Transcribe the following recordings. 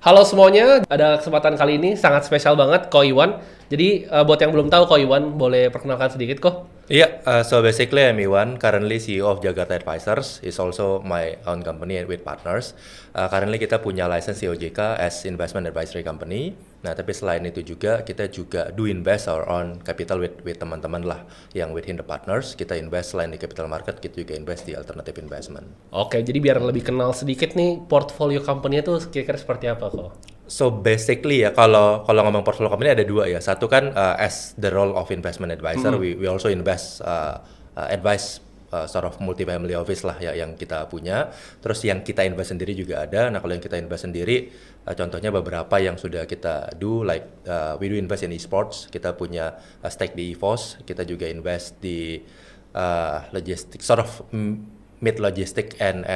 Halo semuanya, ada kesempatan kali ini sangat spesial banget Ko Iwan. Jadi buat yang belum tahu Ko Iwan, boleh perkenalkan sedikit Ko? Yeah, so basically I'm Iwan, currently CEO of Jakarta Advisors, is also my own company with partners. Currently kita punya license COJK as investment advisory company. Nah, tapi selain itu juga kita juga do invest our own capital with teman-teman lah yang within the partners. Kita invest selain di capital market, kita juga invest di alternative investment. Oke, jadi biar lebih kenal sedikit nih portfolio company-nya tuh kira-kira seperti apa Ko? So basically ya kalau ngomong portfolio company ada dua ya. Satu kan as the role of investment advisor, we also invest advice sort of multifamily office lah ya yang kita punya. Terus yang kita invest sendiri juga ada. Nah kalau yang kita invest sendiri, contohnya beberapa yang sudah kita do like we do invest in esports. Kita punya stake di EVOS. Kita juga invest di logistic sort of mid logistic and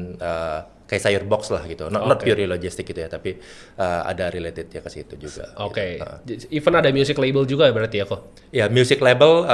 kayak sayur box lah gitu, not purely logistic gitu ya, tapi ada related ya ke situ juga. Oke, Gitu. even ada music label juga ya berarti ya Ko? Ya, music label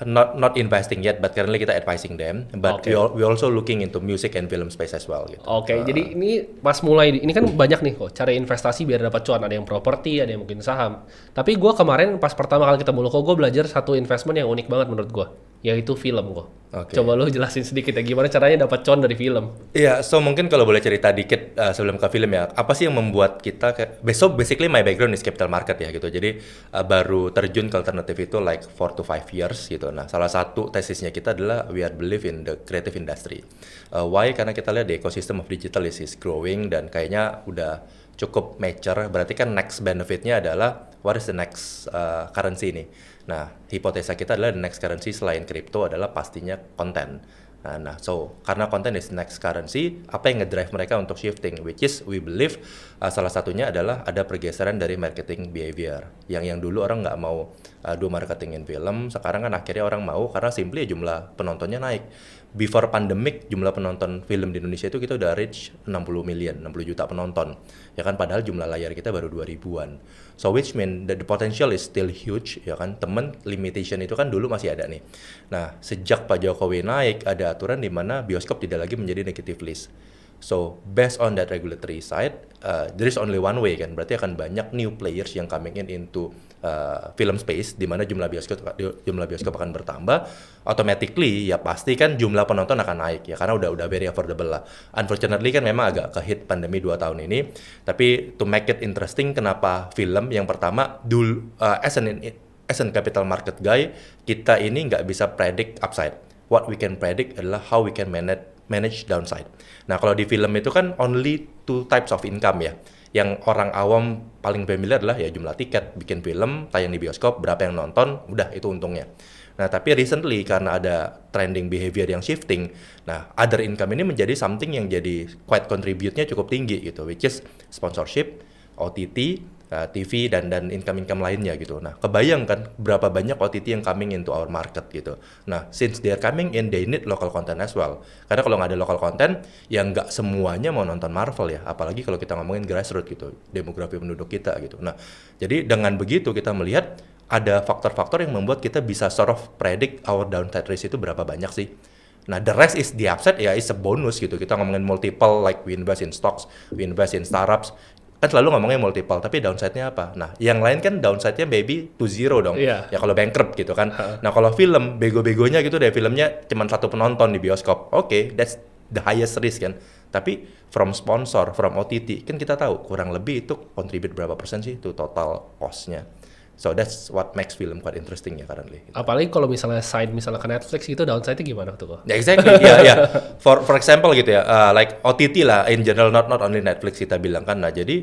not investing yet, but currently kita advising them. But we also looking into music and film space as well. Gitu. Oke, jadi ini pas mulai, ini kan banyak nih kok cara investasi biar dapat cuan. Ada yang properti, ada yang mungkin saham. Tapi gue kemarin pas pertama kali ketemu lo kok, gue belajar satu investment yang unik banget menurut gue, yaitu film kok. Coba lo jelasin sedikit ya, gimana caranya dapat cuan dari film? Iya, so mungkin kalau boleh cerita dikit sebelum ke film ya, apa sih yang membuat kita basically my background is capital market ya gitu. Jadi baru terjun ke alternatif itu like 4 to 5 years gitu. Nah, salah satu tesisnya kita adalah we are believe in the creative industry. Why? Karena kita lihat the ecosystem of digital is growing dan kayaknya udah cukup mature. Berarti kan next benefitnya adalah what is the next currency nih. Nah, hipotesa kita adalah the next currency selain crypto adalah pastinya konten. Nah, so karena konten is next currency, apa yang ngedrive mereka untuk shifting, which is we believe salah satunya adalah ada pergeseran dari marketing behavior. Yang dulu orang nggak mau do marketing in film, sekarang kan akhirnya orang mau karena simply jumlah penontonnya naik. Before pandemic jumlah penonton film di Indonesia itu kita udah reach 60 juta penonton. Ya kan padahal jumlah layar kita baru 2000-an. So which mean that the potential is still huge ya kan. Temen limitation itu kan dulu masih ada nih. Nah, sejak Pak Jokowi naik ada aturan di mana bioskop tidak lagi menjadi negative list. So based on that regulatory side, there is only one way kan. Berarti akan banyak new players yang coming into film space di mana jumlah bioskop akan bertambah. Automatically ya pasti kan jumlah penonton akan naik ya karena udah very affordable lah. Unfortunately kan memang agak ke-hit pandemi 2 tahun ini. Tapi to make it interesting, kenapa film yang pertama dulu as an capital market guy, kita ini nggak bisa predict upside. What we can predict adalah how we can manage downside. Nah, kalau di film itu kan only two types of income ya. Yang orang awam paling familiar adalah ya jumlah tiket, bikin film, tayang di bioskop, berapa yang nonton, udah itu untungnya. Nah, tapi recently karena ada trending behavior yang shifting, nah other income ini menjadi something yang jadi quite contribute-nya cukup tinggi gitu, which is sponsorship, OTT, TV dan income lainnya gitu. Nah, kebayang kan berapa banyak OTT yang coming into our market gitu. Nah, since they are coming in, they need local content as well. Karena kalau nggak ada local content, ya nggak semuanya mau nonton Marvel ya. Apalagi kalau kita ngomongin grassroots gitu, demografi penduduk kita gitu. Nah, jadi dengan begitu kita melihat ada faktor-faktor yang membuat kita bisa sort of predict our downside risk itu berapa banyak sih. Nah, the rest is the upside ya is a bonus gitu. Kita ngomongin multiple like we invest in stocks, we invest in startups. Kan selalu ngomongnya multiple, tapi downside-nya apa? Nah, yang lain kan downside-nya baby to zero dong. Yeah. Ya kalau bankrupt gitu kan. Nah, kalau film, bego-begonya gitu deh, filmnya cuma satu penonton di bioskop. Oke, that's the highest risk kan. Tapi from sponsor, from OTT, kan kita tahu kurang lebih itu contribute berapa persen sih to total cost-nya. So that's what makes film quite interesting ya currently. Gitu. Apalagi kalau misalnya misalnya ke Netflix gitu, downside-nya gimana tuh kok? Ya, exactly, ya. For example gitu ya, like OTT lah in general, not only Netflix kita bilang kan. Nah, jadi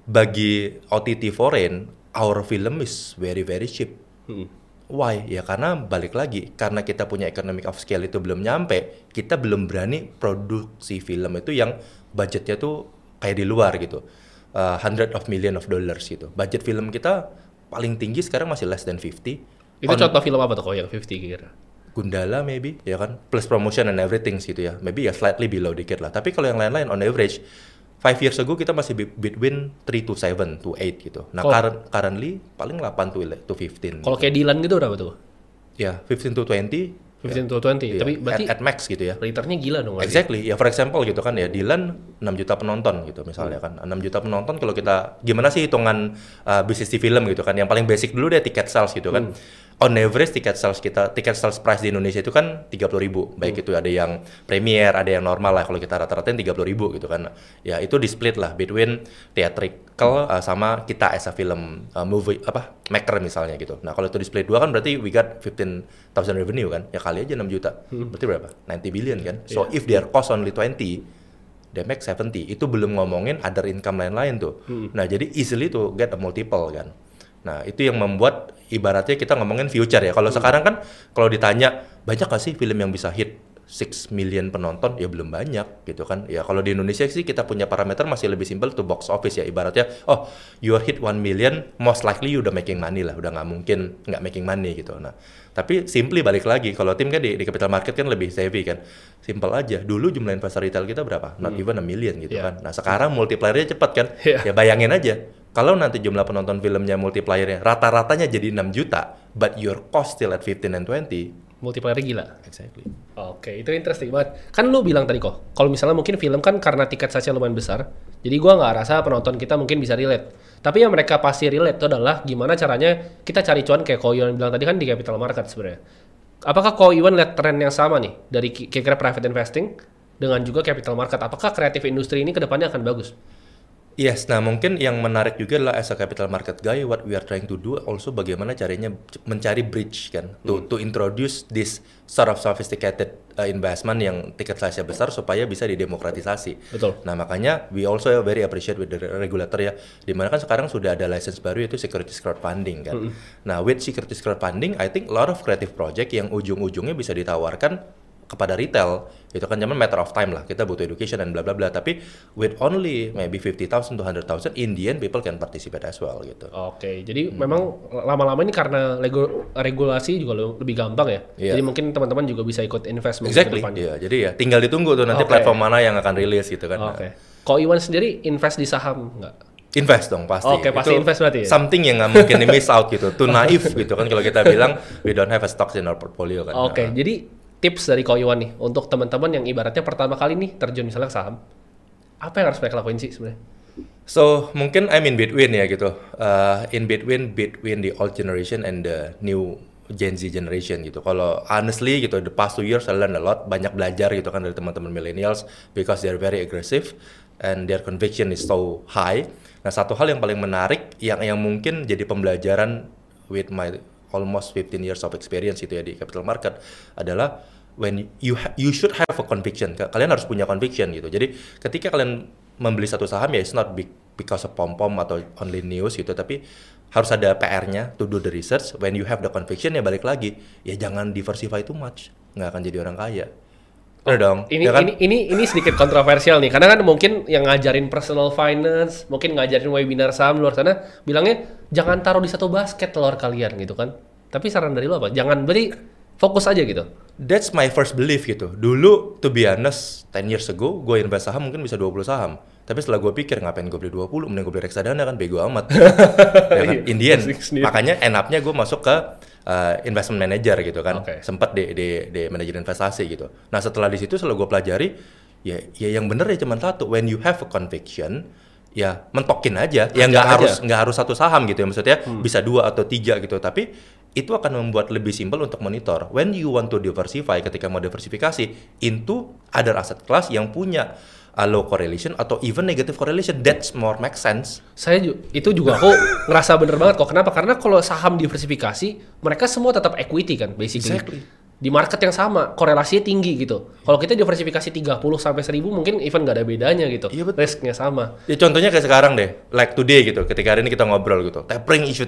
bagi OTT foreign, our film is very cheap. Why? Ya karena balik lagi, karena kita punya economic of scale itu belum nyampe, kita belum berani produksi film itu yang budgetnya tuh kayak di luar gitu. Hundred of million of dollars gitu. Budget film kita paling tinggi sekarang masih less than 50. Itu contoh film apa tuh kok yang 50 kira? Gundala maybe, ya kan? Plus promotion and everything gitu ya. Maybe ya slightly below dikit lah. Tapi kalau yang lain-lain on average, 5 years ago kita masih between 3 to 7 to 8 gitu. Nah, currently paling 8 to 15. Kalau kayak Dylan gitu berapa tuh? Ya, 15 to 20, 15 to 20. Iya, Tapi berarti at max gitu ya. returnnya gila dong. berarti. Exactly, ya for example gitu kan ya, Dylan 6 juta penonton gitu misalnya kan. 6 juta penonton kalau kita, gimana sih hitungan bisnis di film gitu kan. Yang paling basic dulu deh tiket sales gitu kan. On average tiket sales price di Indonesia itu kan 30.000. Baik itu ada yang premier, ada yang normal lah. Kalau kita rata-ratain 30.000 gitu kan. Ya itu di split lah between theatrical sama kita as a film movie maker misalnya gitu. Nah kalau itu di split 2 kan berarti we got 15,000 revenue kan. Ya kali aja 6 juta. Berarti berapa? 90 billion kan. So if their cost only 20, they make 70. Itu belum ngomongin other income lain-lain tuh. Nah jadi easily to get a multiple kan. Nah itu yang membuat ibaratnya kita ngomongin future ya. Kalau sekarang kan kalau ditanya banyak gak sih film yang bisa hit 6 million penonton, ya belum banyak gitu kan. Ya kalau di Indonesia sih kita punya parameter masih lebih simple tuh box office ya. Ibaratnya oh you hit 1 million most likely you udah making money lah. Udah nggak mungkin nggak making money gitu. Nah tapi simply balik lagi kalau tim kan di capital market kan lebih savvy kan. Simple aja. Dulu jumlah investor retail kita berapa? Not even a million gitu kan. Nah sekarang multiplier-nya cepat kan. Ya bayangin aja. Kalau nanti jumlah penonton filmnya multiplier-nya rata-ratanya jadi 6 juta, but your cost still at 15 and 20, multiplier gila. Exactly. Oke, itu interesting banget. Kan lu bilang tadi kok, kalau misalnya mungkin film kan karena tiket saja lumayan besar, jadi gua nggak rasa penonton kita mungkin bisa relate. Tapi yang mereka pasti relate itu adalah gimana caranya kita cari cuan kayak Ko Iwan bilang tadi kan di capital market sebenarnya. Apakah Ko Iwan lihat tren yang sama nih dari kira-kira private investing dengan juga capital market? Apakah kreatif industri ini kedepannya akan bagus? Yes, nah mungkin yang menarik juga adalah as a capital market guy, what we are trying to do also bagaimana caranya mencari bridge kan, to introduce this sort of sophisticated investment yang tiket size-nya besar supaya bisa didemokratisasi. Betul. Nah makanya we also very appreciate with the regulator ya, dimana kan sekarang sudah ada license baru yaitu securities crowdfunding kan. Nah with securities crowdfunding, I think a lot of creative project yang ujung-ujungnya bisa ditawarkan kepada retail, itu kan zaman matter of time lah, kita butuh education dan bla bla bla, tapi with only maybe 50,000 to 100,000 in the end people can participate as well gitu. Oke, jadi memang lama-lama ini karena regulasi juga lebih gampang ya, jadi mungkin teman-teman juga bisa ikut invest mungkin Exactly, ke depannya. iya, jadi ya tinggal ditunggu tuh nanti platform mana yang akan rilis gitu kan. Oke. Ko Iwan sendiri invest di saham nggak? Invest dong pasti. Oke, pasti invest berarti ya? Something yang nggak mungkin di miss out gitu, too naif gitu kan kalau kita bilang we don't have a stocks in our portfolio kan. Oke, jadi tips dari Ko Iwan nih untuk teman-teman yang ibaratnya pertama kali nih terjun misalnya ke saham, apa yang harus mereka lakuin sih sebenarnya? So mungkin I'm in between ya gitu, in between the old generation and the new Gen Z generation gitu. Kalau honestly gitu, the past 2 years I learned a lot, banyak belajar gitu kan dari teman-teman millennials because they're very aggressive and their conviction is so high. Nah satu hal yang paling menarik yang mungkin jadi pembelajaran with my almost 15 years of experience itu ya di capital market adalah when you should have a conviction. Kalian harus punya conviction gitu. Jadi ketika kalian membeli satu saham ya it's not because of pom-pom atau only news gitu, tapi harus ada PR-nya to do the research. When you have the conviction ya balik lagi, ya jangan diversify too much. Nggak akan jadi orang kaya. Bener dong. Ini, ya kan? ini sedikit kontroversial nih, karena kan mungkin yang ngajarin personal finance, mungkin ngajarin webinar saham luar sana, bilangnya jangan taruh di satu basket telur kalian gitu kan. Tapi saran dari lo apa? Jangan beri, fokus aja gitu. That's my first belief gitu. Dulu, to be honest, 10 years ago, gue invest saham mungkin bisa 20 saham. Tapi setelah gue pikir, ngapain gue beli 20, mending gue beli reksadana kan, bego amat. Ya kan? In the end, makanya end up-nya gue masuk ke investment manager gitu kan. Sempet di manajer investasi gitu. Nah setelah di situ, setelah gue pelajari, ya yang bener ya cuma satu. When you have a conviction, ya mentokin aja. Ya nggak harus satu saham gitu ya. Maksudnya bisa 2 atau 3 gitu. Tapi itu akan membuat lebih simpel untuk monitor. When you want to diversify, ketika mau diversifikasi into other asset class yang punya low correlation atau even negative correlation, that's more make sense. Itu juga aku ngerasa bener banget kok. Kenapa? Karena kalau saham diversifikasi, mereka semua tetap equity kan, basically. Exactly. Di market yang sama, korelasinya tinggi gitu. Kalau kita diversifikasi 30 sampai 1000 mungkin even nggak ada bedanya gitu. Iya, risknya sama. Ya contohnya kayak sekarang deh, like today gitu, ketika hari ini kita ngobrol gitu, tapering issue.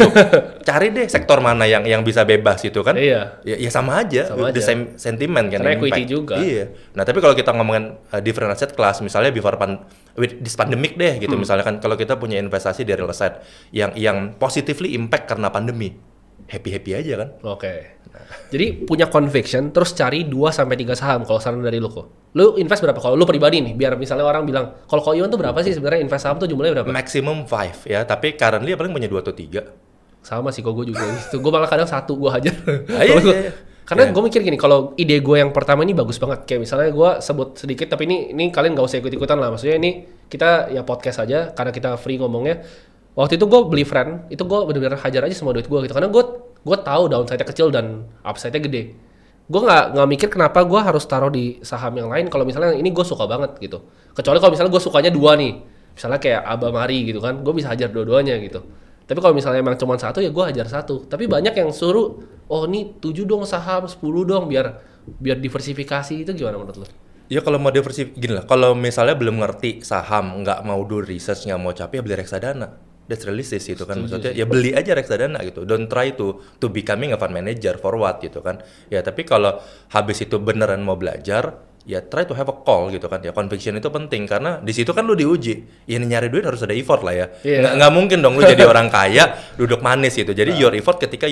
Cari deh sektor mana yang bisa bebas gitu kan. Iya. Ya sama aja, the same sentiment kan. Karena equity juga. Iya. Nah tapi kalau kita ngomongin different asset class, misalnya before with this pandemic deh gitu, misalnya kan kalau kita punya investasi di real estate yang positively impact karena pandemi, happy aja kan. Oke. Jadi punya conviction, terus cari 2 sampai 3 saham kalau saran dari lu kok. Lu invest berapa kalau lu pribadi nih? Biar misalnya orang bilang, kalau Ko Iwan tuh berapa sih sebenarnya invest saham tuh jumlahnya berapa? Maximum 5 ya, tapi currently paling punya 2 atau 3. Sama sih kok gue juga. Gue malah kadang 1 gue hajar. Iya. Karena Ya. gue mikir gini, kalau ide gue yang pertama ini bagus banget. Kayak misalnya gue sebut sedikit, tapi ini kalian gak usah ikut-ikutan lah. Maksudnya ini kita ya podcast aja, karena kita free ngomongnya. Waktu itu gue beli friend, itu gue bener-bener hajar aja semua duit gue gitu. Karena gue tahu downside-nya kecil dan upside-nya gede. Gue nggak mikir kenapa gue harus taruh di saham yang lain kalau misalnya ini gue suka banget gitu. Kecuali kalau misalnya gue sukanya dua nih, misalnya kayak Abamari gitu kan, gue bisa hajar dua-duanya gitu. Tapi kalau misalnya emang cuma satu ya gue hajar satu. Tapi banyak yang suruh, oh nih 7 dong saham, 10 dong biar diversifikasi. Itu gimana menurut lo? Ya kalau mau diversifikasi, gini lah, kalau misalnya belum ngerti saham, nggak mau do research, nggak mau capek, ya beli reksadana. That's realistic gitu kan, maksudnya ya beli aja reksadana gitu. Don't try to becoming a fund manager for what gitu kan. Ya tapi kalau habis itu beneran mau belajar, ya try to have a call gitu kan. Ya conviction itu penting karena di situ kan lu diuji. Ya nyari duit harus ada effort lah ya. Iya. Nggak mungkin dong lu jadi orang kaya duduk manis gitu. Jadi your effort ketika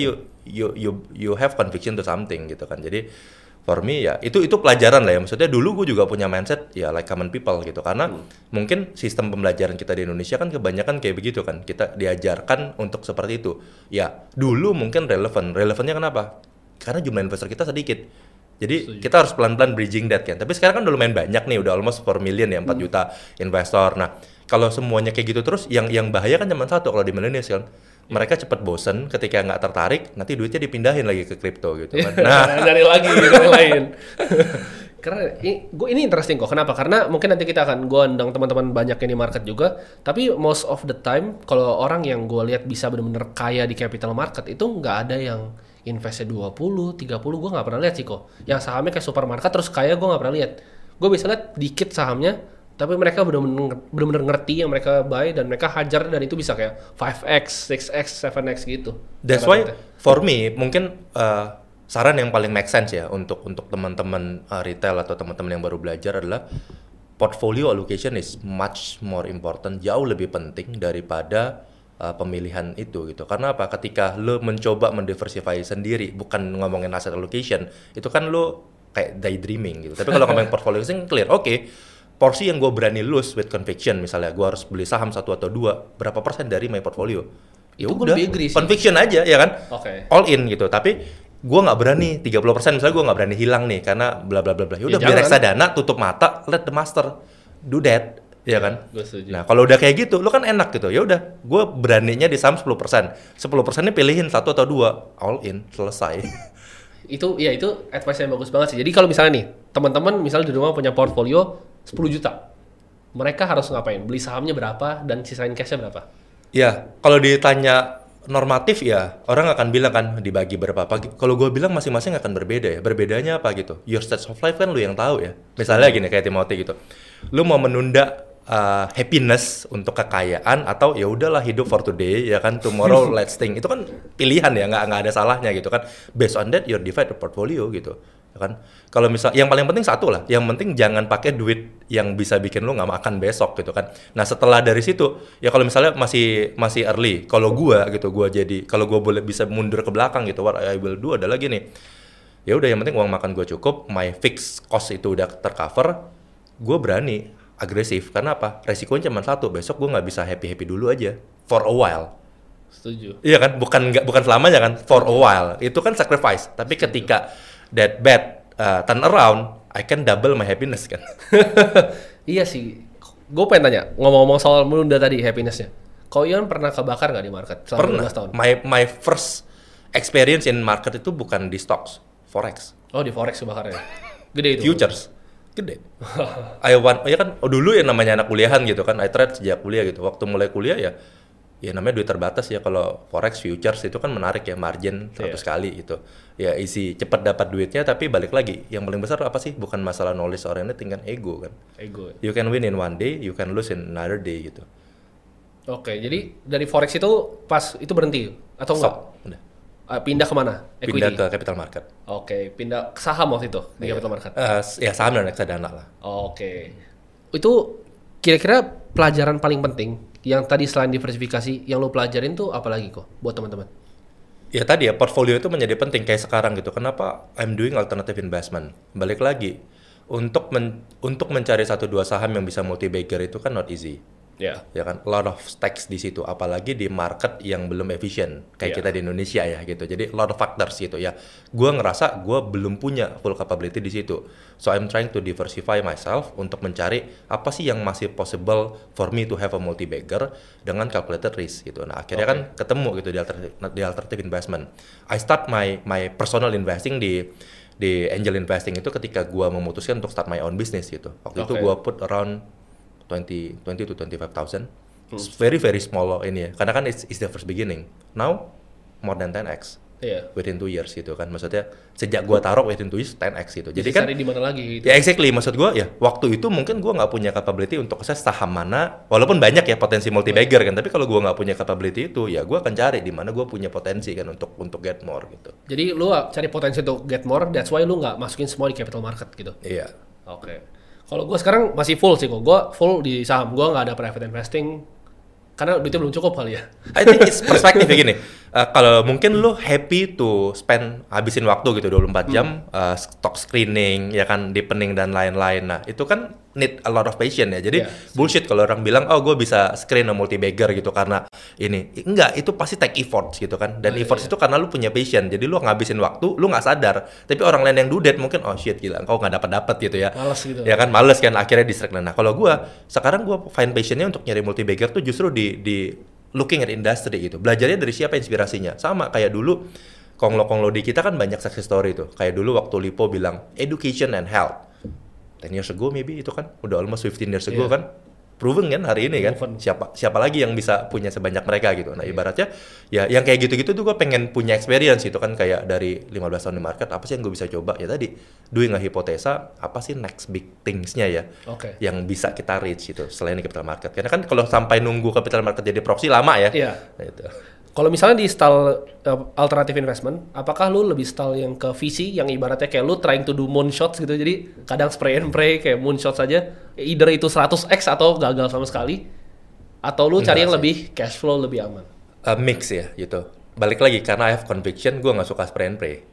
you have conviction to something gitu kan. Jadi for me ya itu pelajaran lah ya, maksudnya dulu gue juga punya mindset ya like common people gitu karena mungkin sistem pembelajaran kita di Indonesia kan kebanyakan kayak begitu kan, kita diajarkan untuk seperti itu ya. Dulu mungkin relevannya kenapa? Karena jumlah investor kita sedikit, jadi kita harus pelan-pelan bridging that kan. Tapi sekarang kan udah lumayan banyak nih, udah almost 4 million ya, 4 juta investor. Nah kalau semuanya kayak gitu terus, yang bahaya kan cuma satu kalau di millennials kan, mereka cepat bosen ketika nggak tertarik, nanti duitnya dipindahin lagi ke kripto gitu kan. Nah, Dari lagi yang lain. Karena ini interesting kok. Kenapa? Karena mungkin nanti kita akan gue undang teman-teman banyak yang di market juga. Tapi most of the time kalau orang yang gue lihat bisa benar-benar kaya di capital market itu nggak ada yang investnya 20, 30 gue nggak pernah lihat sih kok. Yang sahamnya kayak supermarket terus kaya gue nggak pernah lihat. Gue bisa lihat dikit sahamnya, tapi mereka benar-benar ngerti yang mereka buy dan mereka hajar dan itu bisa kayak 5x, 6x, 7x gitu. that's why for me mungkin saran yang paling make sense ya untuk teman-teman retail atau teman-teman yang baru belajar adalah portfolio allocation is much more important, jauh lebih penting daripada pemilihan itu gitu. Karena apa? Ketika lo mencoba mendiversify sendiri, bukan ngomongin asset allocation, itu kan lo kayak daydreaming gitu. Tapi kalau ngomongin portfolio allocation clear, oke. Porsi yang gue berani lose with conviction, misalnya gue harus beli saham 1 atau 2, berapa persen dari my portfolio? Ya Itu gue udah, lebih agree sih. conviction aja ya kan, Oke. all in gitu. Tapi gue nggak berani 30%, misalnya gue nggak berani hilang nih karena bla bla bla bla. Ya udah, Ya beli jangan. reksadana, tutup mata, let the master do that, ya kan. Gue setuju. Nah kalau udah kayak gitu, lo kan enak gitu. Ya udah, gue beraninya di saham 10%, 10%-nya pilihin 1 atau 2, all in, selesai. Itu advice yang bagus banget sih. Jadi kalau misalnya nih, teman-teman misalnya di rumah punya portfolio 10 juta. Mereka harus ngapain? Beli sahamnya berapa dan sisain cash-nya berapa? Ya, kalau ditanya normatif ya, orang akan bilang kan dibagi berapa. Kalau gue bilang masing-masing akan berbeda ya. Berbedanya apa gitu? Your stage of life kan lu yang tahu ya. Misalnya gini kayak Timothy gitu. Lu mau menunda happiness untuk kekayaan atau ya udahlah hidup for today ya kan, tomorrow let's think. Itu kan pilihan ya, nggak ada salahnya gitu kan. Based on that you divide the portfolio gitu. Ya kan? Kalau misal yang paling penting satu lah, yang penting jangan pakai duit yang bisa bikin lu nggak makan besok gitu kan. Nah setelah dari situ ya kalau misalnya masih early, kalau gua gitu, kalau gua boleh bisa mundur ke belakang gitu, what I will do adalah gini. Ya udah, yang penting uang makan gua cukup, my fixed cost itu udah tercover, gua berani agresif. Karena apa? Resikonya cuma satu, besok gua nggak bisa happy dulu aja for a while. Setuju. Iya kan, bukan selamanya kan, for a while. Itu kan sacrifice. Tapi ketika that bad turn around, I can double my happiness kan. Iya sih. Gue pengen tanya, ngomong-ngomong soal menunda tadi happiness-nya. Kau Ian pernah kebakar nggak di market selama Pernah. 12 tahun? My first experience in market itu bukan di stocks, forex, Oh di forex kebakarnya. Gede itu. futures, gede. Ya kan, dulu ya namanya anak kuliahan gitu kan, I trade sejak kuliah gitu. Waktu mulai kuliah ya namanya duit terbatas ya, kalau forex futures itu kan menarik ya, margin 100 kali gitu. Ya isi cepet dapat duitnya, tapi balik lagi yang paling besar apa sih? Bukan masalah knowledge or anything kan, ego kan. Ego. You can win in one day, you can lose in another day gitu. Oke, jadi dari forex itu pas itu berhenti atau enggak? Stop, udah. Pindah kemana? Pindah Equity. ke capital market. Oke, pindah ke saham waktu itu di capital market. Ya saham dan reksadana lah. Oke. Itu kira-kira pelajaran paling penting yang tadi selain diversifikasi yang lo pelajarin tuh apa lagi kok buat teman-teman? Ya tadi ya, portfolio itu menjadi penting kayak sekarang gitu. Kenapa I'm doing alternative investment? Balik lagi, untuk mencari 1-2 saham yang bisa multi bagger itu kan not easy. Ya kan, a lot of stakes di situ, apalagi di market yang belum efisien kayak kita di Indonesia ya gitu. Jadi a lot of factors gitu ya. Gua ngerasa gua belum punya full capability di situ. So I'm trying to diversify myself untuk mencari apa sih yang masih possible for me to have a multi-bagger dengan calculated risk gitu. Nah, akhirnya kan ketemu gitu di alternative investment. I start my personal investing di angel investing itu ketika gua memutuskan untuk start my own business gitu. Waktu itu gua put around 20 to 25,000. It's very very small ini ya. Karena kan it's the first beginning. Now more than 10x. Within 2 years gitu kan. Maksudnya sejak gua taruh within 2 years 10x gitu. Jadi kan cari di mana lagi gitu. Ya exactly, maksud gua ya waktu itu mungkin gua nggak punya capability untuk assess saham mana, walaupun banyak ya potensi multi bagger kan, tapi kalau gua nggak punya capability itu ya gua akan cari di mana gua punya potensi kan untuk get more gitu. Jadi lu cari potensi untuk get more, that's why lu nggak masukin semua di capital market gitu. Iya. Kalau gue sekarang masih full sih kok. Gue full di saham. Gue nggak ada private investing karena duitnya belum cukup kali ya. I think it's perspektif begini. Kalau mungkin lu happy to habisin waktu gitu 24 jam stock screening ya kan, deepening dan lain-lain. Nah, itu kan need a lot of patience ya. Jadi bullshit kalau orang bilang oh gue bisa screen a multi bagger gitu karena ini. Enggak, itu pasti take efforts gitu kan. Dan efforts itu karena lu punya patience. Jadi lu ngabisin waktu, lu nggak sadar. Tapi orang lain yang do that mungkin oh shit gila, engkau nggak dapat gitu ya. Males gitu. Ya kan, males kan akhirnya distract. Nah, kalau sekarang gue find patientnya untuk nyari multi bagger tuh justru di looking at industry gitu. Belajarnya dari siapa inspirasinya. Sama kayak dulu konglo-konglo di kita kan banyak success story tuh. Kayak dulu waktu Lipo bilang education and health. 10 years ago maybe itu kan udah almost 15 years ago kan. Proven kan hari ini kan. Siapa lagi yang bisa punya sebanyak mereka gitu. Nah, ibaratnya ya yang kayak gitu-gitu tuh gue pengen punya experience itu kan, kayak dari 15 tahun di market apa sih yang gue bisa coba ya tadi. Doing a hipotesa, apa sih next big things-nya ya yang bisa kita reach itu selain di capital market. Karena kan kalau sampai nunggu capital market jadi proxy lama ya. Nah, itu. Kalau misalnya di style alternative investment, apakah lu lebih style yang ke VC yang ibaratnya kayak lu trying to do moonshots gitu, jadi kadang spray and pray kayak moonshots saja, either itu 100x atau gagal sama sekali, atau lu cari yang lebih cash flow, lebih aman? Mix ya gitu. Balik lagi karena I have conviction, gue nggak suka spray and pray.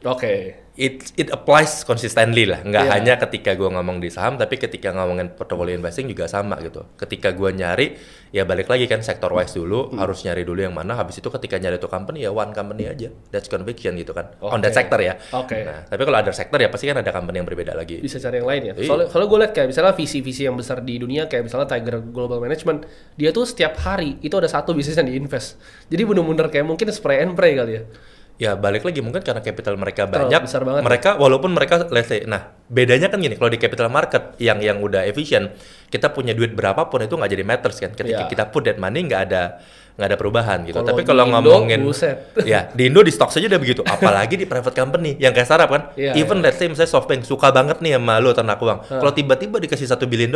It applies consistently lah, nggak hanya ketika gue ngomong di saham, tapi ketika ngomongin portfolio investing juga sama gitu. Ketika gue nyari, ya balik lagi kan sector wise dulu, harus nyari dulu yang mana. Habis itu ketika nyari itu company ya one company aja, that's conviction gitu kan, on that sector ya. Nah, tapi kalau ada sector ya pasti kan ada company yang berbeda lagi. Bisa cari yang lain ya. Soalnya gue lihat kayak misalnya VC yang besar di dunia kayak misalnya Tiger Global Management, dia tuh setiap hari itu ada satu bisnis yang diinvest. Jadi bener-bener kayak mungkin spray and pray kali ya. Ya balik lagi mungkin karena capital mereka banyak, banget, mereka walaupun mereka let's say, nah bedanya kan gini, kalau di capital market yang udah efisien, kita punya duit berapapun itu nggak jadi matters kan, ketika kita put that money nggak ada perubahan gitu. Tapi kalau ngomongin ya di Indo di stock saja udah begitu, apalagi di private company yang kayak startup kan, even let's say misalnya SoftBank suka banget nih sama lu ternak uang, kalau tiba-tiba dikasih $1 billion,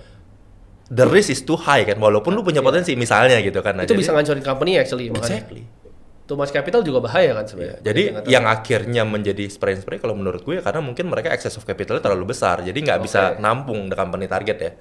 the risk is too high kan, walaupun lu punya potensi misalnya gitu kan. Nah, itu bisa ngancurin company actually. Exactly. Too much capital juga bahaya kan sebenarnya. Jadi yang akhirnya menjadi spray kalau menurut gue karena mungkin mereka excess of capital terlalu besar, jadi nggak bisa nampung the company target ya.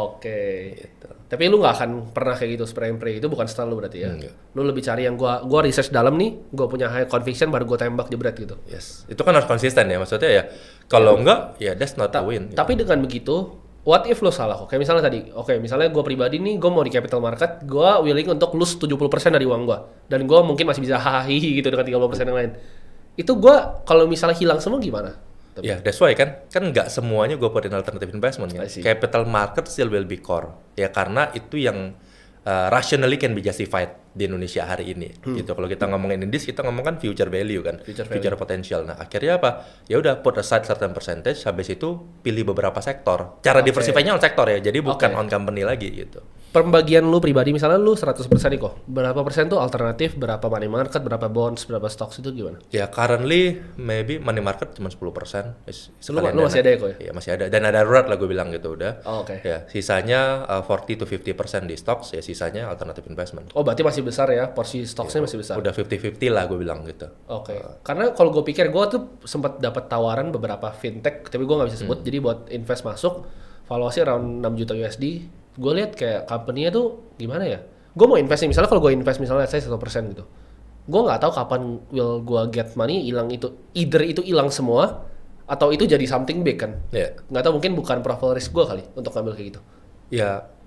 Gitu. Tapi lu nggak akan pernah kayak gitu spray itu bukan style lu berarti ya. Lu lebih cari yang gua research dalam nih, gua punya high conviction baru gua tembak jebret gitu. Yes. Itu kan harus konsisten ya, maksudnya ya. Kalau enggak ya that's not a win. Tapi dengan begitu, what if lo salah kok? Kayak misalnya tadi, misalnya gue pribadi nih, gue mau di capital market, gue willing untuk lose 70% dari uang gue. Dan gue mungkin masih bisa hahaha gitu dengan 30% yang lain. Itu gue, kalau misalnya hilang semua gimana? Ya, that's why kan nggak semuanya gue put in alternative investment kan. Capital market still will be core. Ya karena itu yang rationally can be justified di Indonesia hari ini gitu. Kalau kita ngomongin indis, kita ngomongkan future value kan, future potential. Nah akhirnya apa, ya udah put aside certain percentage, habis itu pilih beberapa sektor, cara diversify-nya on sektor ya, jadi bukan on company lagi gitu. Pembagian lu pribadi misalnya lu 100% nih kok, berapa persen tuh alternatif, berapa money market, berapa bonds, berapa stocks itu gimana? Ya currently maybe money market cuma 10%. Lu masih ada ya kok ya? Iya masih ada, dan ada darurat lah gue bilang gitu udah. Ya sisanya 40 to 50% di stocks, ya sisanya alternative investment. Oh berarti masih besar ya, porsi stoknya masih besar. Udah 50-50 lah gue bilang gitu. Karena kalau gue pikir gue tuh sempat dapat tawaran beberapa fintech, tapi gue nggak bisa sebut. Jadi buat invest masuk, valuasi around 6 juta USD. Gue lihat kayak company-nya tuh gimana ya? Gue mau invest nih, misalnya kalau gue invest misalnya saya 1% gitu. Gue nggak tahu kapan will gue get money hilang itu. Either itu hilang semua atau itu jadi something big kan. Nggak tahu, mungkin bukan profile risk gue kali untuk ngambil kayak gitu. Ya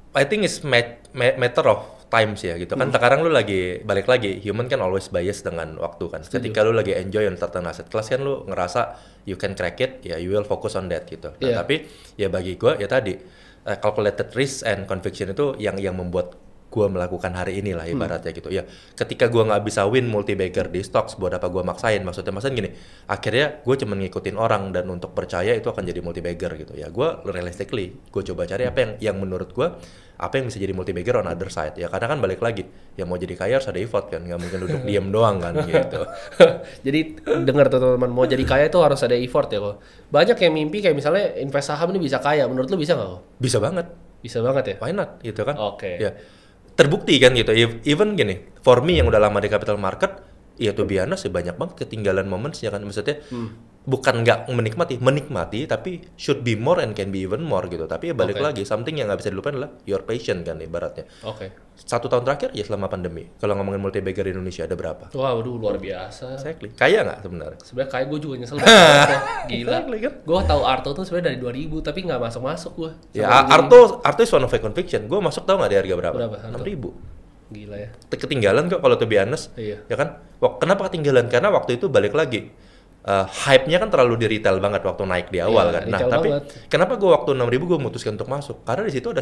I think it's matter of times ya gitu kan. Sekarang lu lagi balik lagi, human kan always bias dengan waktu kan. Ketika lu lagi enjoy on certain asset class kan lu ngerasa you can crack it, ya you will focus on that gitu. Nah, tapi ya bagi gua ya tadi calculated risk and conviction itu yang membuat gua melakukan hari ini lah ibaratnya gitu. Ya ketika gua nggak bisa win multi bagger di stocks, buat apa gua maksain? Maksudnya gini, akhirnya gua cuma ngikutin orang dan untuk percaya itu akan jadi multi bagger gitu. Ya gua realistically gua coba cari apa yang menurut gua apa yang bisa jadi multi bagger on other side. Ya karena kan balik lagi, ya mau jadi kaya harus ada effort kan, nggak mungkin duduk diem doang kan gitu. Jadi dengar tuh teman-teman, mau jadi kaya itu harus ada effort ya kok. Banyak yang mimpi kayak misalnya invest saham ini bisa kaya. Menurut lu bisa nggak kok? Bisa banget. Bisa banget ya? Why not gitu kan? Oke. Ya terbukti kan gitu. Even gini, for me yang udah lama di capital market, ya tuh biasa sih banyak banget ketinggalan moments ya kan, maksudnya bukan nggak menikmati tapi should be more and can be even more gitu. Tapi ya balik lagi, something yang nggak bisa dilupain adalah your patient kan ibaratnya. 1 tahun terakhir ya selama pandemi, kalau ngomongin multi bagger di Indonesia ada berapa? Wah, waduh luar biasa. Exactly. Kaya nggak sebenarnya? Sebenarnya kayak gue juga nyesel banget. Gila. Exactly, kan? Gue tahu Arto tuh sebenarnya dari 2000 tapi nggak masuk gue. Ya Arto is one of my conviction. Gue masuk tahu nggak di harga berapa? 6.000. Gila ya. Ketinggalan kok kalau to be honest. Iya. Ya kan? Kenapa ketinggalan? Karena waktu itu balik lagi. Hype-nya kan terlalu di retail banget waktu naik di awal kan. Nah, tapi kenapa gue waktu 6.000 gue memutuskan untuk masuk? Karena di situ ada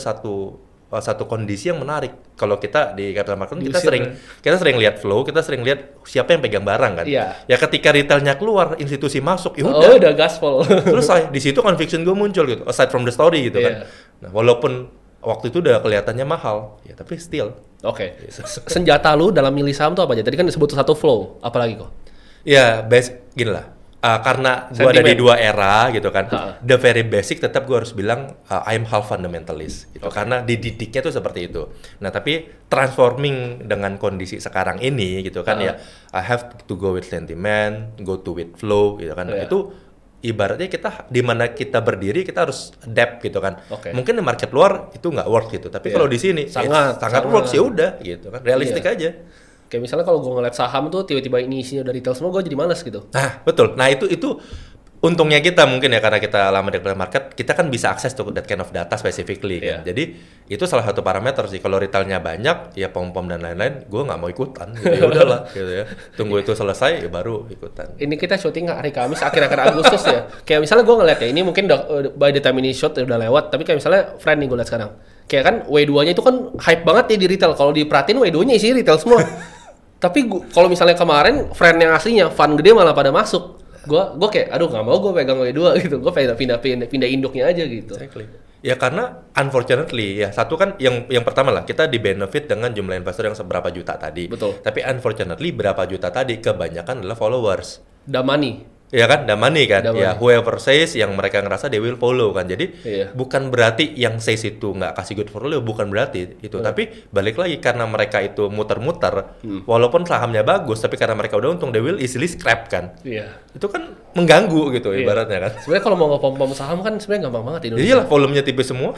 satu kondisi yang menarik. Kalau kita di capital market kita sering lihat flow, kita sering lihat siapa yang pegang barang kan. Iya. Ya ketika retailnya keluar, institusi masuk, ya udah gaspol. Selesai. Di situ conviction gue muncul gitu. Aside from the story gitu kan. Nah, walaupun waktu itu udah kelihatannya mahal, ya tapi still. Oke. Senjata lu dalam milih saham tuh apa aja? Tadi kan disebut satu flow, apalagi kok? Ya, gini lah. Karena gue ada di dua era gitu kan, the very basic tetap gue harus bilang I'm half fundamentalist gitu. Karena dididiknya tuh seperti itu. Nah tapi transforming dengan kondisi sekarang ini gitu kan ya, I have to go with sentiment, go to with flow gitu kan. Itu ibaratnya kita di mana kita berdiri kita harus adapt gitu kan. Mungkin di market luar itu nggak work gitu, tapi kalau di sini sangat works ya udah gitu kan, realistik aja. Kayak misalnya kalau gue ngeliat saham tuh tiba-tiba ini isinya udah retail semua, gue jadi malas gitu. Nah betul, nah itu untungnya kita mungkin ya karena kita lama di capital market, kita kan bisa akses to that kind of data specifically kan. Jadi itu salah satu parameter sih. Kalau retailnya banyak, ya pom-pom dan lain-lain, gue nggak mau ikutan. Gitu, ya udahlah, gitu ya. Tunggu itu selesai, ya baru ikutan. Ini kita syuting hari Kamis akhir-akhir Agustus ya. Kayak misalnya gue ngeliat ya, ini mungkin by the time ini shoot udah lewat, tapi kayak misalnya friend nih gue liat sekarang. Kayak kan W2-nya itu kan hype banget ya di retail. Kalau diperhatiin W2-nya isi retail semua. Tapi kalau misalnya kemarin friend yang aslinya fund gede malah pada masuk. Gue kayak aduh nggak mau gue pegang W2 gitu. Gue pindah induknya aja gitu. Exactly. Ya karena unfortunately ya satu kan yang pertama lah kita di benefit dengan jumlah investor yang seberapa juta tadi. Betul. Tapi unfortunately berapa juta tadi kebanyakan adalah followers. The money. Ya kan, damani kan, ya whoever says yang mereka ngerasa they will follow kan. Jadi bukan berarti yang says itu nggak kasih good follow, bukan berarti itu. Tapi balik lagi karena mereka itu muter-muter, walaupun sahamnya bagus, tapi karena mereka udah untung, they will easily scrap kan. Itu kan mengganggu gitu ibaratnya kan. Sebenarnya kalau mau ngepom-pom saham kan sebenarnya gampang banget di Indonesia. Iyalah, volumenya tipis semua.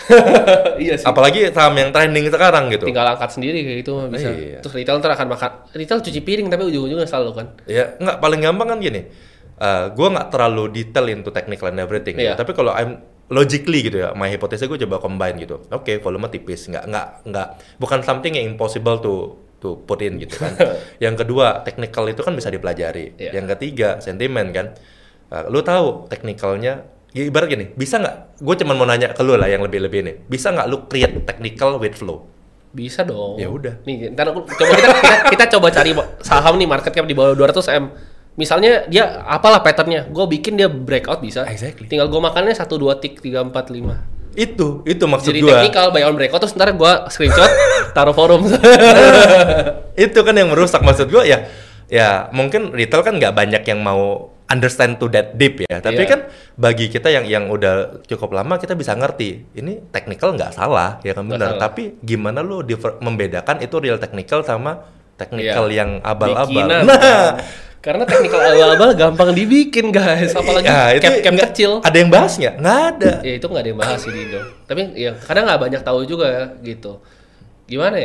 Iya sih. Apalagi saham yang trending sekarang gitu. Tinggal angkat sendiri kayak gitu bisa. Terus retail ntar akan makan. Retail cuci piring tapi ujung-ujungnya selalu kan. Ya nggak, paling gampang kan gini. Gue nggak terlalu detail into technical and everything, gitu. Tapi kalau I'm logically gitu ya, my hypothesis gue coba combine gitu. Oke, volume tipis, nggak, bukan something yang impossible to put in gitu kan. Yang kedua, technical itu kan bisa dipelajari. Yang ketiga, sentimen kan. Lu tahu technicalnya, ya ibarat gini, bisa nggak? Gue cuma mau nanya ke lu lah yang lebih-lebih nih. Bisa nggak lu create technical with flow? Bisa dong. Ya udah. Nih, ntar kita coba cari saham nih market cap di bawah 200 M. Misalnya dia apalah patternnya, gue bikin dia breakout bisa. Exactly. Tinggal gue makannya 1, 2 tick, 3, 4, 5. Itu maksud gue. Jadi technical buy on breakout terus ntar gue screenshot taruh forum. Itu kan yang merusak maksud gue ya. Ya mungkin retail kan nggak banyak yang mau understand to that deep ya. Tapi kan bagi kita yang udah cukup lama kita bisa ngerti ini technical nggak salah ya kan benar. Tapi gimana lo membedakan itu real technical sama technical yang abal-abal. Nah. Karena technical abal-abal gampang dibikin guys, apalagi cap kecil. Ada yang bahas nggak? Nggak ada. Ya itu nggak ada yang bahas sih di Indo. Tapi ya kadang nggak banyak tahu juga gitu. Gimana ya?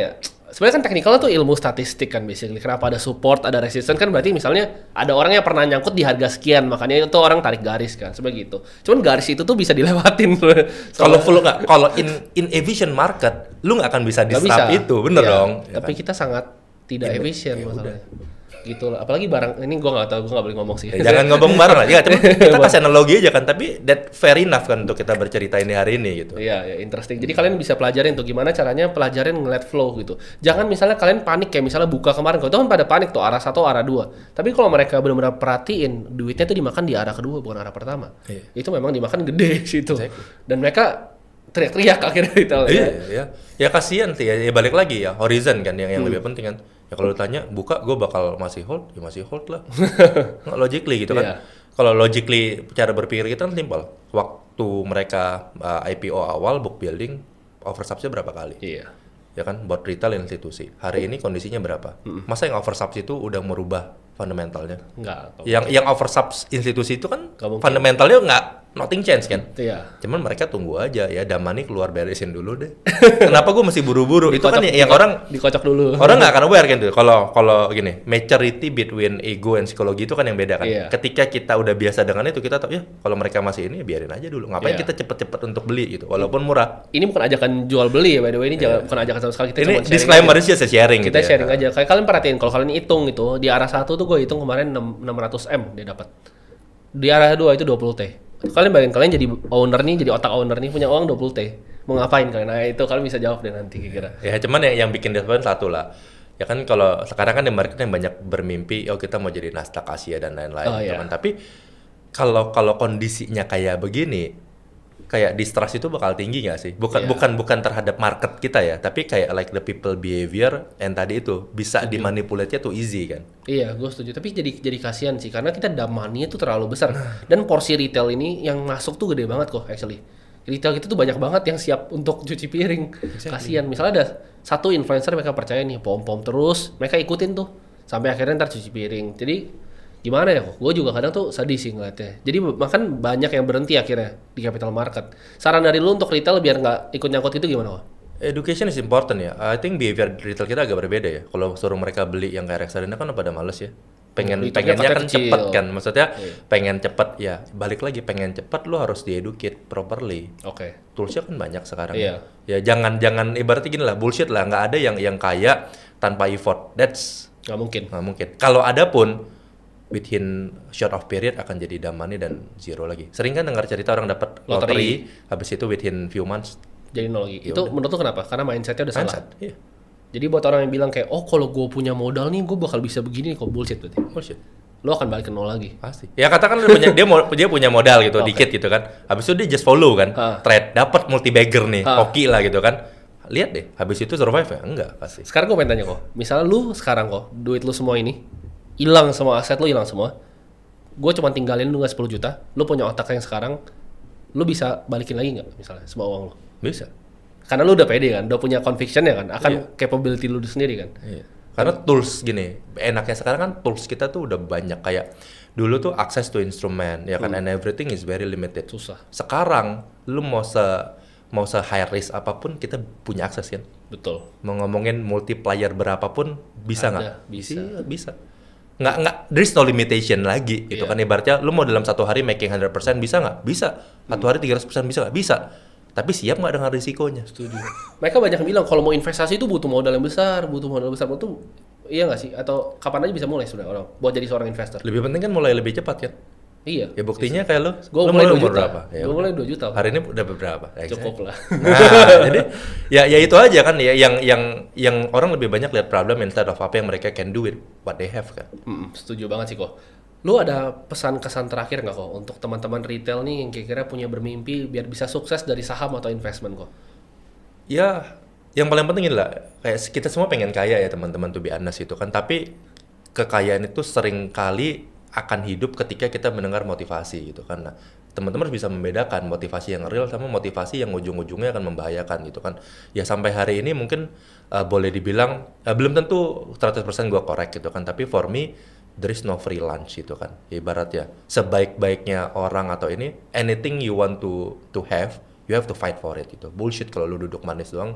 sebenarnya kan teknikal tuh ilmu statistik kan basically. Kenapa ada support, ada resistance kan berarti misalnya ada orang yang pernah nyangkut di harga sekian, makanya itu orang tarik garis kan, seperti gitu. Cuman garis itu tuh bisa dilewatin. Kalau full nggak, kalau in efficient market, lu nggak akan bisa Nggak disrupt bisa. itu, bener Iya, dong. Ya tapi kan? kita sangat tidak efisien masalahnya. Gitu lah. Apalagi barang ini gue nggak tahu, gue nggak boleh ngomong sih. Ya, jangan ngomong bareng lah, ya, cuma kita kasih analogi aja kan, tapi that fair enough kan untuk kita bercerita ini hari ini gitu. Iya, ya interesting. Jadi kalian bisa pelajarin tuh gimana caranya pelajarin ngeliat flow gitu. Jangan misalnya kalian panik kayak misalnya buka kemarin, kalau itu kan pada panik tuh arah satu, arah dua. Tapi kalau mereka benar-benar perhatiin, duitnya tuh dimakan di arah kedua bukan arah pertama. Iya. Itu memang dimakan gede situ. Exactly. Dan mereka teriak-teriak akhirnya retail. Iya, ya. Ya kasihan sih ya, balik lagi ya horizon kan yang lebih penting kan. Ya kalau ditanya buka gue bakal masih hold, ya masih hold lah. Nggak logically gitu kan. Iya. Kalau logically cara berpikir kita kan simpel. Waktu mereka IPO awal book building oversubside berapa kali? Iya. Ya kan buat retail institusi. Hari ini kondisinya berapa? Masa yang oversubs itu udah merubah fundamentalnya? Enggak. Yang oversubs institusi itu kan Nggak mungkin. fundamentalnya nggak nothing change kan? Iya. Cuman mereka tunggu aja ya, Damani keluar beresin dulu deh. Kenapa gue mesti buru-buru? Itu kan yang orang dikocok dulu. orang nggak akan aware kan tuh. Kalau gini, maturity between ego and psikologi itu kan yang beda kan. Iya. Ketika kita udah biasa dengan itu, kita tahu ya kalau mereka masih ini biarin aja dulu. Ngapain Iya. kita cepet-cepet untuk beli gitu, walaupun murah. Ini bukan ajakan jual beli ya by the way, ini bukan ajakan sama sekali, kita Ini cuma sharing disclaimer aja. aja sharing Kita gitu sharing ya. aja. Kayak kalian perhatiin kalau kalian hitung itu di arah satu tuh gue hitung kemarin 600M dia dapat. Di arah dua itu 20T. Kalian bayangin kalian jadi owner nih, jadi otak owner nih punya uang 20T. Mau ngapain kalian? Nah, itu kalian bisa jawab deh nanti kira-kira. Ya cuman yang bikin disappoint satu lah. Ya kan kalau sekarang kan di market yang banyak bermimpi, oh kita mau jadi Nasdaq Asia dan lain-lain Oh, gitu iya. kan. Tapi kalau kondisinya kayak begini, kayak distrust itu bakal tinggi nggak sih? Iya. Bukan terhadap market kita ya, tapi kayak like the people behavior and tadi itu bisa dimanipulasinya tuh easy kan. Iya, gue setuju. Tapi jadi kasihan sih karena kita damani itu terlalu besar dan porsi retail ini yang masuk tuh gede banget kok actually. Retail kita tuh banyak banget yang siap untuk cuci piring. Kasihan. Misalnya ada satu influencer mereka percaya nih pom-pom terus, mereka ikutin tuh sampai akhirnya ntar cuci piring. Jadi gimana ya kok? Gue juga kadang tuh sedih sih ngeliatnya. Jadi makan banyak yang berhenti akhirnya di capital market. Saran dari lu untuk retail biar nggak ikut nyangkut itu gimana kok? Education is important ya. I think behavior retail kita agak berbeda ya. Kalau suruh mereka beli yang kayak reksadana kan pada males ya. Hitungnya Pengennya kan kecil. cepet kan. Maksudnya pengen cepet ya. Balik lagi pengen cepet lo harus dieducate properly. Oke. Toolsnya kan banyak sekarang. Iya. Ya jangan ibaratnya gini lah, bullshit lah, nggak ada yang kaya tanpa effort. That's Nggak mungkin. nggak mungkin. Kalau ada pun within short of period akan jadi damani dan zero lagi. Sering kan dengar cerita orang dapat lottery, habis itu within few months Jadi nol lagi. Itu menurut lu kenapa? Karena mindsetnya udah salah. mindset. Iya. Jadi buat orang yang bilang kayak, oh kalau gue punya modal nih, gue bakal bisa begini, kok bullshit berarti. Bullshit. Lo akan balik ke nol lagi. Pasti. Ya katakan dia punya modal gitu dikit gitu kan. Habis itu dia just follow kan. Trade dapat multi bagger nih, hoki lah gitu kan. Lihat deh, habis itu survive ya? Enggak, pasti. Sekarang gue pengen tanya kok, misalnya lu sekarang kok, duit lu semua ini, hilang semua aset lu hilang semua, gue cuma tinggalin lu nggak 10 juta, lu punya otak yang sekarang, lu bisa balikin lagi nggak misalnya semua uang lu? Bisa. Karena lu udah pede kan, udah punya conviction ya kan, akan capability lu sendiri kan. Iya. Karena tools gini, enaknya sekarang kan tools kita tuh udah banyak kayak dulu tuh access to instrument ya kan and everything is very limited. Susah. Sekarang lu mau se high risk apapun kita punya akses kan. Betul. Mau ngomongin multiplier berapapun bisa Ada, nggak? bisa. Iya, bisa. Nggak there is no limitation lagi gitu kan ibaratnya lu mau dalam satu hari making 100% bisa nggak? Bisa. Satu hari 300% bisa nggak? Bisa. Tapi siap nggak dengan risikonya? Setuju. Mereka banyak yang bilang kalau mau investasi itu butuh modal yang besar, Itu iya nggak sih? Atau kapan aja bisa mulai sebenarnya orang buat jadi seorang investor? Lebih penting kan mulai lebih cepat kan? Iya. Ya buktinya kayak lo Gue mulai 2 umur juta. berapa? Ya, Gue mulai 2 juta. hari ini udah berapa? Cukup lah. Nah, jadi ya itu aja kan ya yang orang lebih banyak lihat problem instead of apa yang mereka can do with what they have kan. Setuju banget sih kok. Lu ada pesan kesan terakhir nggak kok untuk teman-teman retail nih yang kira-kira punya bermimpi biar bisa sukses dari saham atau investment kok? Ya, yang paling penting adalah kayak kita semua pengen kaya ya teman-teman tuh be honest itu kan, tapi kekayaan itu sering kali akan hidup ketika kita mendengar motivasi gitu kan. Nah, teman-teman harus bisa membedakan motivasi yang real sama motivasi yang ujung-ujungnya akan membahayakan gitu kan. Ya sampai hari ini mungkin boleh dibilang belum tentu 100% gua correct gitu kan, tapi for me there is no free lunch gitu kan. Ibaratnya sebaik-baiknya orang atau ini anything you want to have, you have to fight for it gitu. Bullshit kalau lu duduk manis doang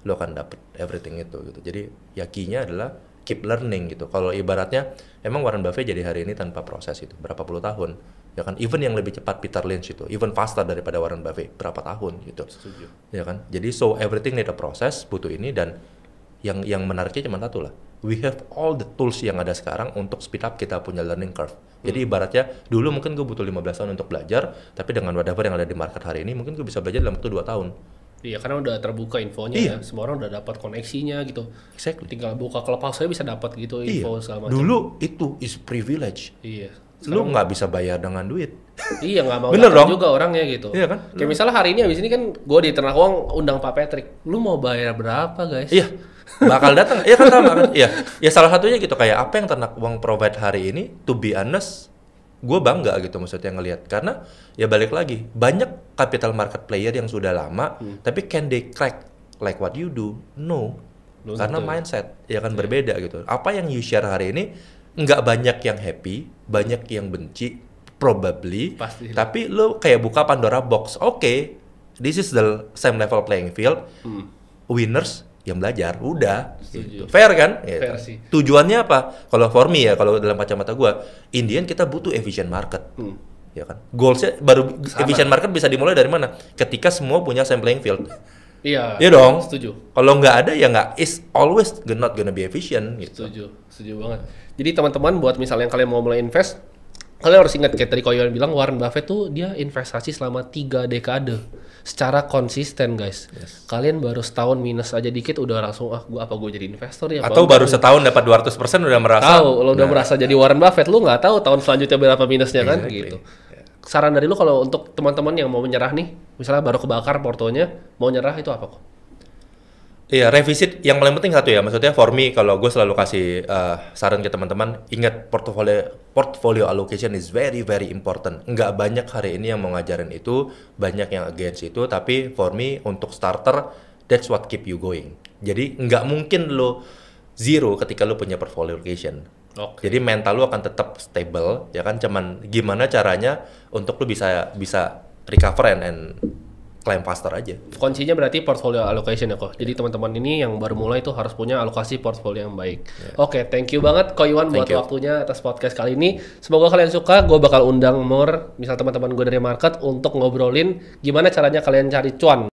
lo akan dapet everything itu gitu. Jadi ya key-nya adalah keep learning gitu. Kalau ibaratnya emang Warren Buffett jadi hari ini tanpa proses itu berapa puluh tahun, ya kan? Even yang lebih cepat Peter Lynch itu, even faster daripada Warren Buffett berapa tahun gitu. Setuju. Ya kan? Jadi so everything need a process, butuh ini. Dan yang menariknya cuma satu lah. We have all the tools yang ada sekarang untuk speed up kita punya learning curve. Jadi ibaratnya dulu mungkin gue butuh 15 tahun untuk belajar, tapi dengan whatever yang ada di market hari ini mungkin gue bisa belajar dalam waktu 2 tahun. Iya, karena udah terbuka infonya Iya. ya. Semua orang udah dapat koneksinya gitu. Exactly. Tinggal buka Clubhouse saya bisa dapat gitu info segala macam. Dulu itu is privilege. Iya. Lu nggak bisa bayar dengan duit. Iya, nggak mau Bener datang dong? juga orangnya gitu. Iya kan? Kayak misalnya hari ini abis ini kan gue di Ternak Uang undang Pak Patrick. Lu mau bayar berapa guys? Iya, bakal datang. Iya kan sama kan? Iya. Ya salah satunya gitu kayak apa yang Ternak Uang provide hari ini, to be honest, gue bangga gitu maksudnya ngelihat. Karena ya balik lagi, banyak capital market player yang sudah lama, tapi can they crack like what you do? No. Belum Karena tentu. mindset ya kan berbeda gitu. Apa yang you share hari ini nggak banyak yang happy, banyak yang benci, probably. Pasti. Tapi lo kayak buka Pandora box. Oke, this is the same level playing field. Winners yang belajar, udah. Gitu. Fair kan? Gitu. Fair sih. Tujuannya apa? Kalau for me ya, kalau dalam kacamata gua, Indian kita butuh efficient market. Ya kan? Goalsnya baru efficient market bisa dimulai dari mana? Ketika semua punya same playing field. Iya. Iya dong. Setuju. Kalau nggak ada ya nggak, is always not gonna be efficient gitu. Setuju banget. Jadi teman-teman buat misalnya kalian mau mulai invest, kalian harus ingat kayak tadi Koyon bilang Warren Buffett tuh dia investasi selama 3 dekade secara konsisten guys. Kalian baru setahun minus aja dikit udah langsung gue jadi investor ya. Atau baru setahun dapat 200% udah merasa. Tahu, lo udah merasa jadi Warren Buffett, lu nggak tahu tahun selanjutnya berapa minusnya kan Exactly. gitu. Saran dari lu kalau untuk teman-teman yang mau menyerah nih, misalnya baru kebakar portonya, mau nyerah itu apa kok? Iya, revisit yang paling penting satu ya, maksudnya for me kalau gue selalu kasih saran ke teman-teman, ingat portfolio allocation is very very important. Nggak banyak hari ini yang mau ngajarin itu, banyak yang against itu, tapi for me untuk starter, that's what keep you going. Jadi nggak mungkin lo zero ketika lo punya portfolio allocation. Oke. Jadi mental lu akan tetap stable, ya kan? Cuman gimana caranya untuk lu bisa recover and climb faster aja. Kuncinya berarti portfolio allocation ya kok. Jadi teman-teman ini yang baru mulai itu harus punya alokasi portfolio yang baik. Oke, thank you banget Ko Iwan buat Thank you. waktunya atas podcast kali ini. Semoga kalian suka. Gue bakal undang more, misal teman-teman gue dari market untuk ngobrolin gimana caranya kalian cari cuan